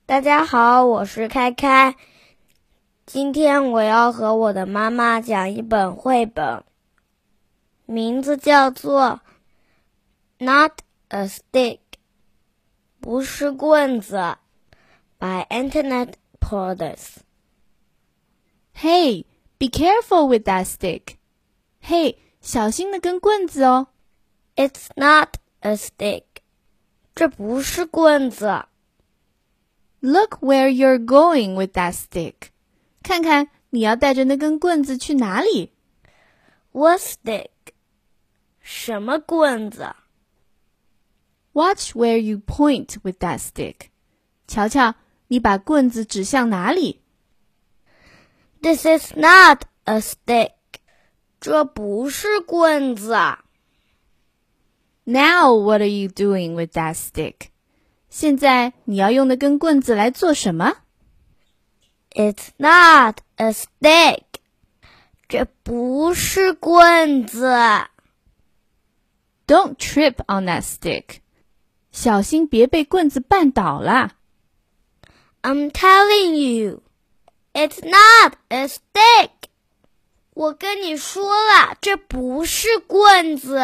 大家好，我是开开。今天我要和我的妈妈讲一本绘本，名字叫做 Not a Stick 不是棍子 by Antoinette Portis。 Hey, be careful with that stick. Hey, 小心的根棍子哦。 It's not a stick 这不是棍子。 Look where you're going with that stick. 看看你要带着那根棍子去哪里。 What stick 什么棍子。 Watch where you point with that stick. 瞧瞧，你把棍子指向哪里。 This is not a stick 这不是棍子。 Now what are you doing with that stick? 现在你要用那根棍子来做什么？ It's not a stick 这不是棍子。 Don't trip on that stick. 小心别被棍子绊倒啦。 I'm telling you, it's not a stick 我跟你说了，这不是棍子。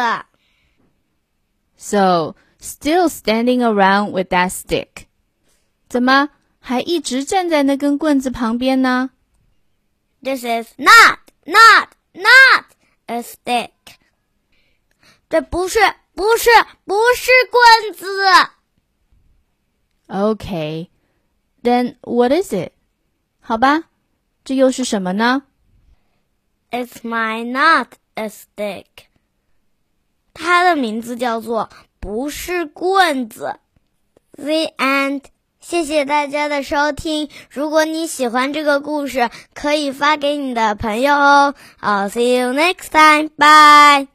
So, still standing around with that stick. 怎么还一直站在那根棍子旁边呢？ This is not a stick 这不是棍子。 Okay, then what is it? 好吧，这又是什么呢？ It's my not a stick 它的名字叫做不是棍子。 The end。 谢谢大家的收听，如果你喜欢这个故事，可以发给你的朋友哦。I'll see you next time. Bye.